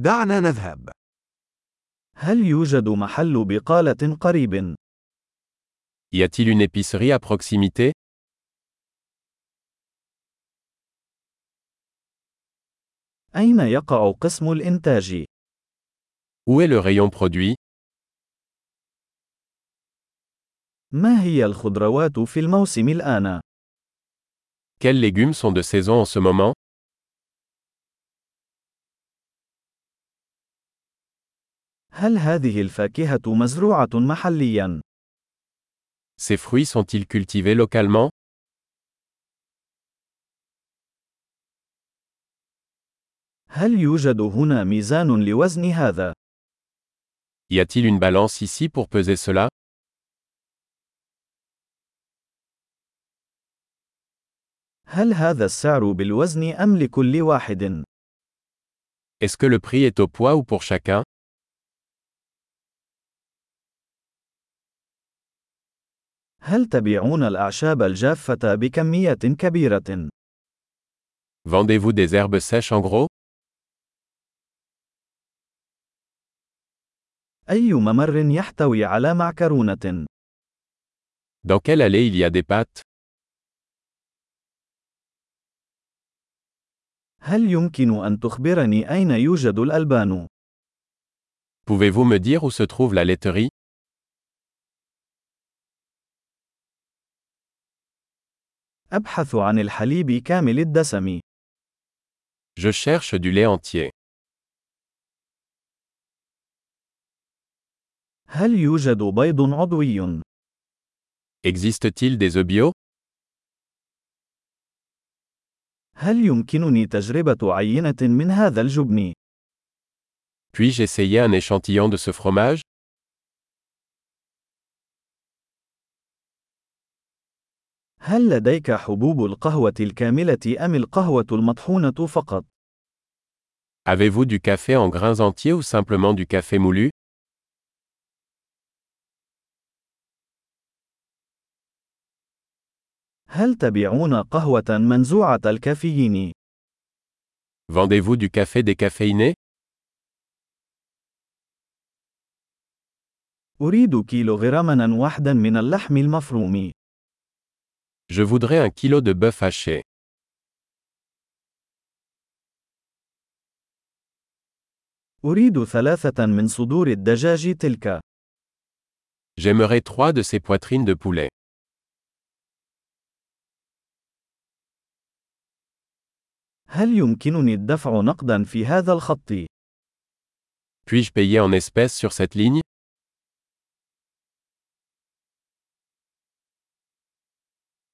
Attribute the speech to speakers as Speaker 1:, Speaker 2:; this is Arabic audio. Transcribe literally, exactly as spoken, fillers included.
Speaker 1: دعنا نذهب.
Speaker 2: هل يوجد محل بقالة قريب؟
Speaker 3: Y a-t-il une épicerie à proximité?
Speaker 2: أين يقع قسم الإنتاج؟
Speaker 3: Où est le rayon produit?
Speaker 2: ما هي الخضروات في الموسم الآن؟
Speaker 3: Quels légumes sont de saison en ce moment?
Speaker 2: هل هذه الفاكهة مزروعة محلياً؟
Speaker 3: Ces fruits sont-ils cultivés localement?
Speaker 2: هل يوجد هنا ميزان لوزن هذا؟
Speaker 3: Y a-t-il une balance ici pour peser cela?
Speaker 2: هل هذا السعر بالوزن أم لكل واحد؟
Speaker 3: Est-ce que le prix est au poids ou pour chacun?
Speaker 2: هل تبيعون الأعشاب الجافة بكميات كبيرة؟
Speaker 3: Vendez-vous des herbes sèches en gros?
Speaker 2: أي ممر يحتوي على معكرونة؟
Speaker 3: Dans quelle allée il y a des pâtes?
Speaker 2: هل يمكن أن تخبرني أين يوجد الألبان؟
Speaker 3: Pouvez-vous me dire où se trouve la laiterie?
Speaker 2: أبحث عن الحليب كامل الدسم.
Speaker 3: Je cherche du lait entier.
Speaker 2: هل يوجد بيض عضوي؟
Speaker 3: Existe-t-il des œufs bio?
Speaker 2: هل يمكنني تجربة عينة من هذا الجبن؟
Speaker 3: Puis-je essayer un échantillon de ce fromage?
Speaker 2: هل لديك حبوب القهوة الكاملة أم القهوة المطحونة فقط؟
Speaker 3: Avez-vous du café en grains entiers ou simplement du café moulu?
Speaker 2: هل تبيعون قهوة منزوعة الكافيين؟
Speaker 3: Vendez-vous du café décaféiné?
Speaker 2: أريد كيلوغراما واحدا من اللحم المفروم.
Speaker 3: Je voudrais un kilo de bœuf haché.
Speaker 2: أريد ثلاثة من صدور الدجاج تلك.
Speaker 3: J'aimerais trois de ces poitrines de poulet.
Speaker 2: هل يمكنني الدفع نقدا في هذا الخط؟
Speaker 3: Puis-je payer en espèces sur cette ligne?